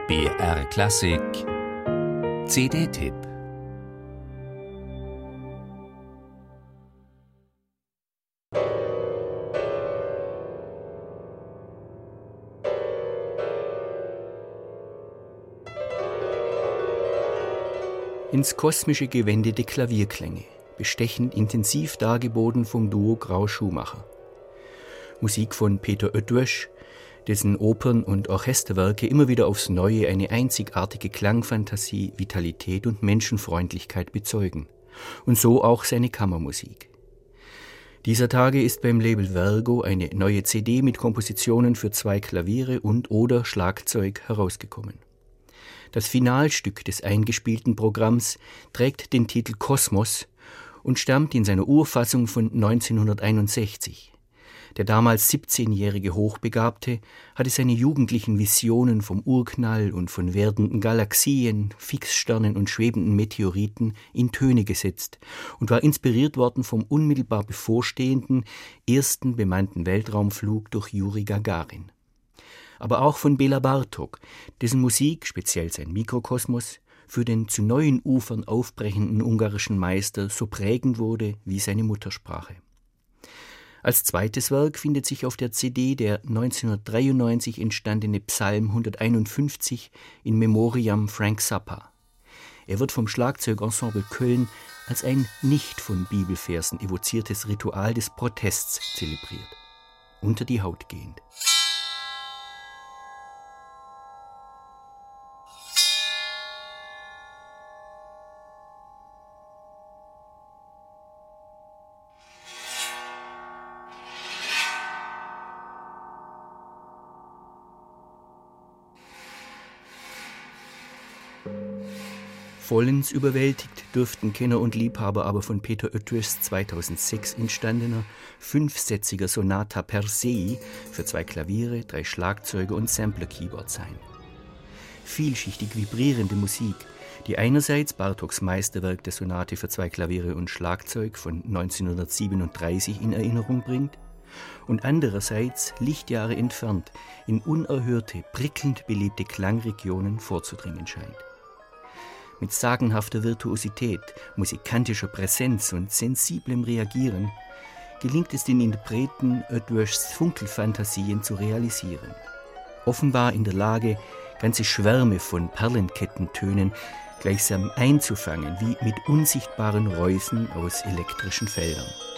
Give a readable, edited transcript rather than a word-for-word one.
BR Klassik CD-Tipp. Ins Kosmische gewendete Klavierklänge, bestechend intensiv dargeboten vom Duo Grau-Schumacher. Musik von Peter Oetwösch, dessen Opern- und Orchesterwerke immer wieder aufs Neue eine einzigartige Klangfantasie, Vitalität und Menschenfreundlichkeit bezeugen. Und so auch seine Kammermusik. Dieser Tage ist beim Label Vergo eine neue CD mit Kompositionen für 2 Klaviere und/oder Schlagzeug herausgekommen. Das Finalstück des eingespielten Programms trägt den Titel Kosmos und stammt in seiner Urfassung von 1961. Der damals 17-jährige Hochbegabte hatte seine jugendlichen Visionen vom Urknall und von werdenden Galaxien, Fixsternen und schwebenden Meteoriten in Töne gesetzt und war inspiriert worden vom unmittelbar bevorstehenden ersten bemannten Weltraumflug durch Juri Gagarin. Aber auch von Bela Bartok, dessen Musik, speziell sein Mikrokosmos, für den zu neuen Ufern aufbrechenden ungarischen Meister so prägend wurde wie seine Muttersprache. Als zweites Werk findet sich auf der CD der 1993 entstandene Psalm 151 in memoriam Frank Zappa. Er wird vom Schlagzeugensemble Köln als ein nicht von Bibelversen evoziertes Ritual des Protests zelebriert. Unter die Haut gehend. Vollends überwältigt dürften Kenner und Liebhaber aber von Peter Oetwöschs 2006 entstandener 5-sätziger Sonata Persei für 2 Klaviere, 3 Schlagzeuge und Sampler-Keyboard sein. Vielschichtig vibrierende Musik, die einerseits Bartoks Meisterwerk der Sonate für 2 Klaviere und Schlagzeug von 1937 in Erinnerung bringt und andererseits Lichtjahre entfernt in unerhörte, prickelnd belebte Klangregionen vorzudringen scheint. Mit sagenhafter Virtuosität, musikantischer Präsenz und sensiblem Reagieren gelingt es den Interpreten, Oetwöschs Funkelfantasien zu realisieren. Offenbar in der Lage, ganze Schwärme von Perlenkettentönen gleichsam einzufangen, wie mit unsichtbaren Reusen aus elektrischen Feldern.